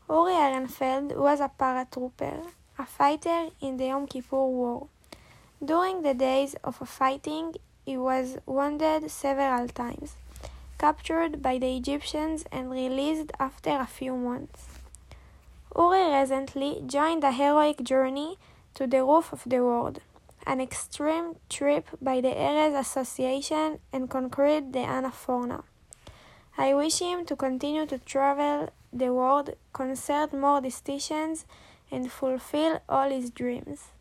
Uri Ehrenfeld was a paratrooper, a fighter in the Yom Kippur War. During the days of fighting, he was wounded several times, captured by the Egyptians and released after a few months. Uri recently joined a heroic journey to the roof of the world, an extreme trip by the Erez Association, and conquered the Anaforna. I wish him to continue to travel the world, concert more destinations, and fulfill all his dreams.